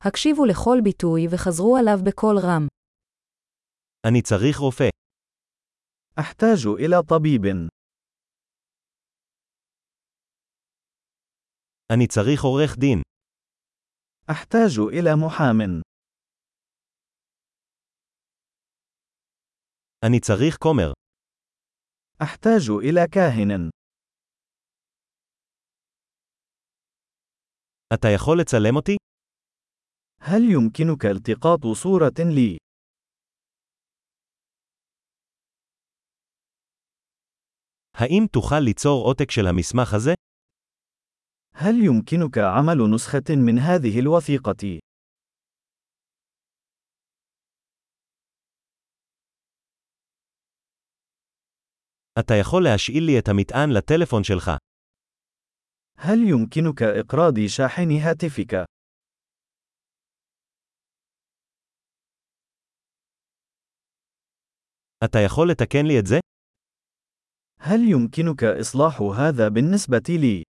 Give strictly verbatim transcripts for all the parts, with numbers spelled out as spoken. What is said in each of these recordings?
הקשיבו לכל ביטוי וחזרו עליו בקול רם. אני צריך רופא. أحتاج إلى طبيب. אני צריך עורך דין. أحتاج إلى محام. אני צריך כומר. أحتاج إلى كاهن. אתה יכול לצלם אותי? هل يمكنك التقاط صورة لي؟ האם תוכל ליצור עותק של המסמך הזה? هل يمكنك عمل نسخة من هذه الوثيقة؟ אתה יכול להשאיל לי את המטען לטלפון שלך. هل يمكنك إقراض شاحن هاتفك؟ אתה יכול לתקן לי את זה? هل يمكنك إصلاح هذا بالنسبة لي؟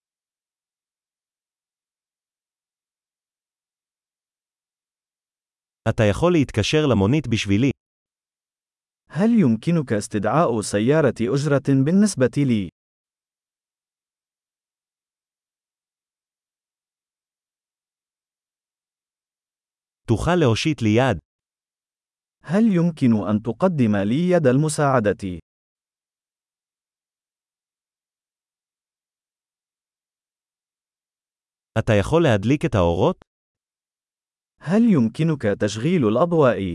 אתה יכול להתקשר למונית בשבילי. هل يمكنك استدعاء سيارة أجرة بالنسبة لي؟ תוכל להושיט לי יד. هل يمكن أن تقدم لي يد المساعدة؟ אתה יכול להדליק את האורות? هل يمكنك تشغيل الأضواء؟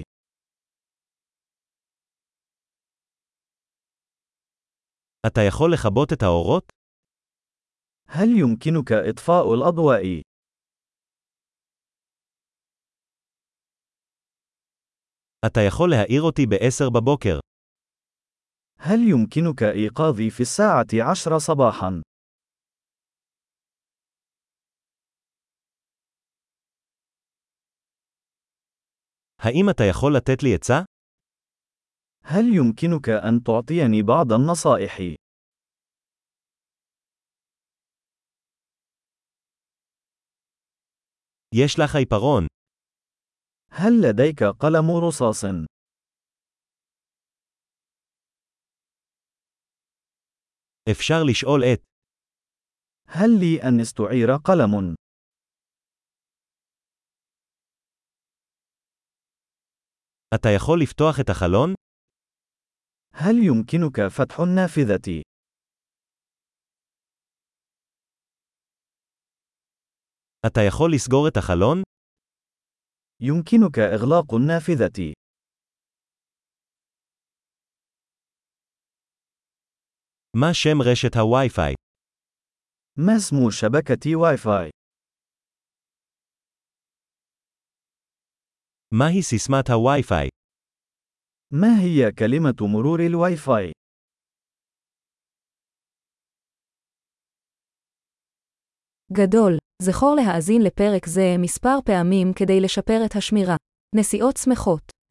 אתה יכול לכבות את האורות? هل يمكنك إطفاء الأضواء؟ אתה יכול להעיר אותי בעשר בבוקר. هل يمكنك إيقاظي في الساعة عشر صباحا؟ האם אתה יכול לתת לי עצה? هل يمكنك أن تعطيني بعض النصائح؟ יש לך עיפרון. هل لديك قلم رصاص؟ אפשר לשאול את. هل لي أن استعير قلم؟ אתה יכול לפתוח את החלון? هل يمكنك فتح النافذة؟ אתה יכול לסגור את החלון? يمكنك إغلاق النافذة. מה שם רשת הווי-פיי? ما اسم شبكة واي فاي؟ מהי סיסמת הווי-פיי? ما هي كلمة مرور الواي فاي؟ גדול, זכור להאזין לפרק זה מספר פעמים כדי לשפר את השמירה. נסיעות שמחות.